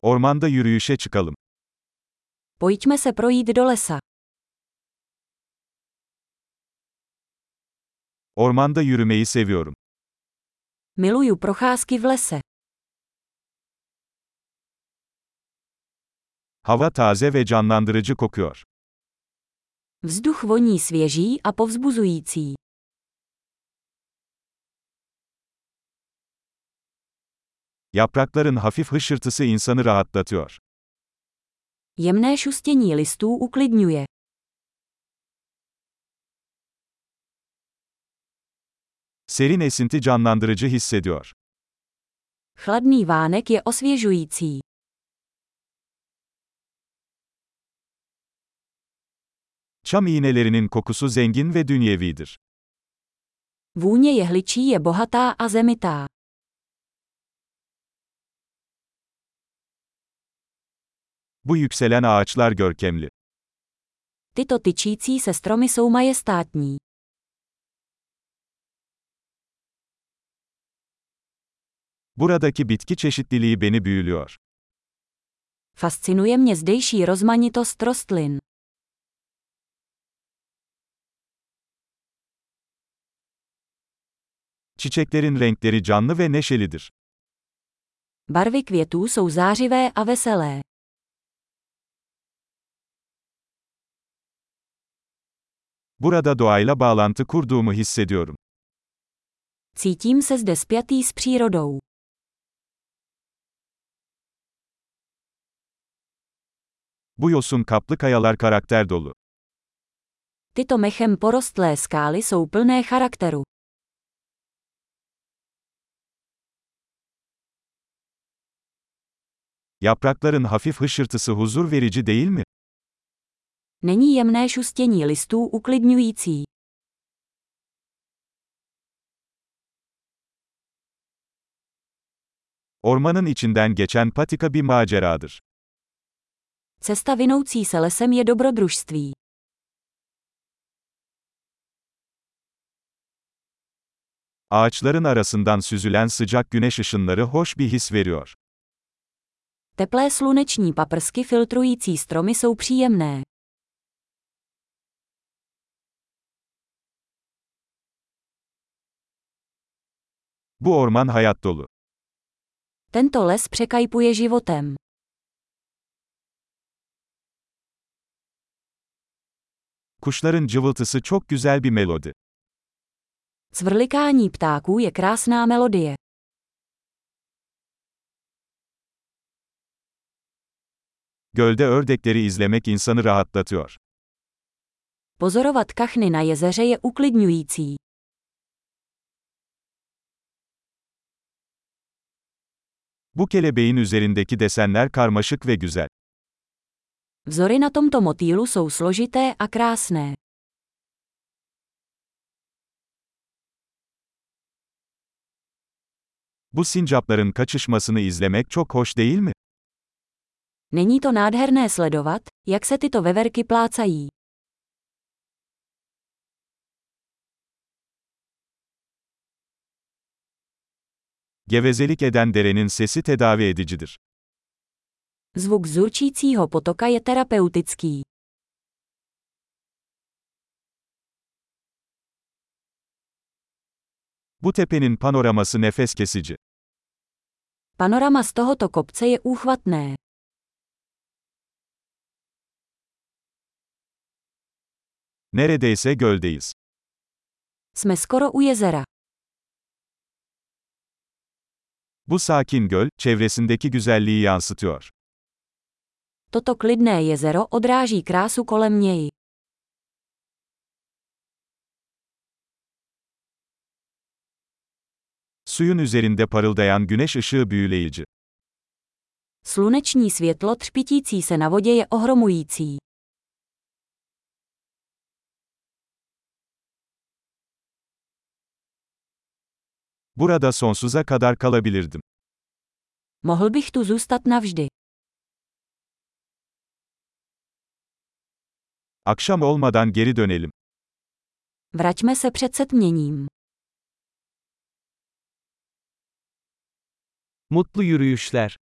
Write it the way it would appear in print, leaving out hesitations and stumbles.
Ormanda yürüyüşe çıkalım. Pojďme se projít do lesa. Ormanda yürümeyi seviyorum. Miluju procházky v lese. Hava taze ve canlandırıcı kokuyor. Vzduch voní svěží a povzbuzující. Yaprakların hafif hışırtısı insanı rahatlatıyor. Jemné šustění listů uklidňuje. Serin esinti canlandırıcı hissediyor. Chladný vánek je osvěžující. Çam iğnelerinin kokusu zengin ve dünyevidir. Vůně jehličí je bohatá a zemitá. Bu yükselen ağaçlar görkemli. Tyto tyčící se stromy jsou majestátní. Buradaki bitki çeşitliliği beni büyülüyor. Fascinuje mě zdejší rozmanitost rostlin. Çiçeklerin renkleri canlı ve neşelidir. Barvy květů jsou zářivé a veselé. Burada doğayla bağlantı kurduğumu hissediyorum. Cítím se zde spjatý s přírodou. Bu yosun kaplı kayalar karakter dolu. Tyto mechem porostlé skály jsou plné charakteru. Yaprakların hafif hışırtısı huzur verici değil mi? Není jemné šustění listů uklidňující. Ormanın içinden geçen patika bir maceradır. Cesta vinoucí se lesem je dobrodružství. Ağaçların arasından süzülen sıcak güneş ışınları hoş bir his veriyor. Teplé sluneční paprsky filtrující stromy jsou příjemné. Bu orman hayat dolu. Tento les překajpuje životem. Kuşların cıvıltısı çok güzel bir melodi. Cvrlikání ptáků je krásná melodie. Gölde ördekleri izlemek insanı rahatlatıyor. Pozorovat kachny na jezeře je uklidňující. Bu kelebeğin üzerindeki desenler karmaşık ve güzel. Vzory na tomto motýlu jsou složité a krásné. Bu sincapların kaçışmasını izlemek çok hoş değil mi? Není to nádherné sledovat, jak se tyto veverky plácají. Gevezelik eden derenin sesi tedavi edicidir. Zvuk zurčícího potoka je terapeutický. Bu tepenin panoraması nefes kesici. Panorama z tohoto kopce je úchvatné. Neredeyse göldeyiz. Jsme skoro u jezera. Bu sakin göl, çevresindeki güzelliği yansıtıyor. Toto klidné jezero odráží krásu kolem něj. Suyun üzerinde parıldayan güneş ışığı büyüleyici. Sluneční světlo třpitící se na vodě je ohromující. Burada sonsuza kadar kalabilirdim. Mohl bych tu zůstat navždy. Akşam olmadan geri dönelim. Vraťme se před setměním. Mutlu yürüyüşler.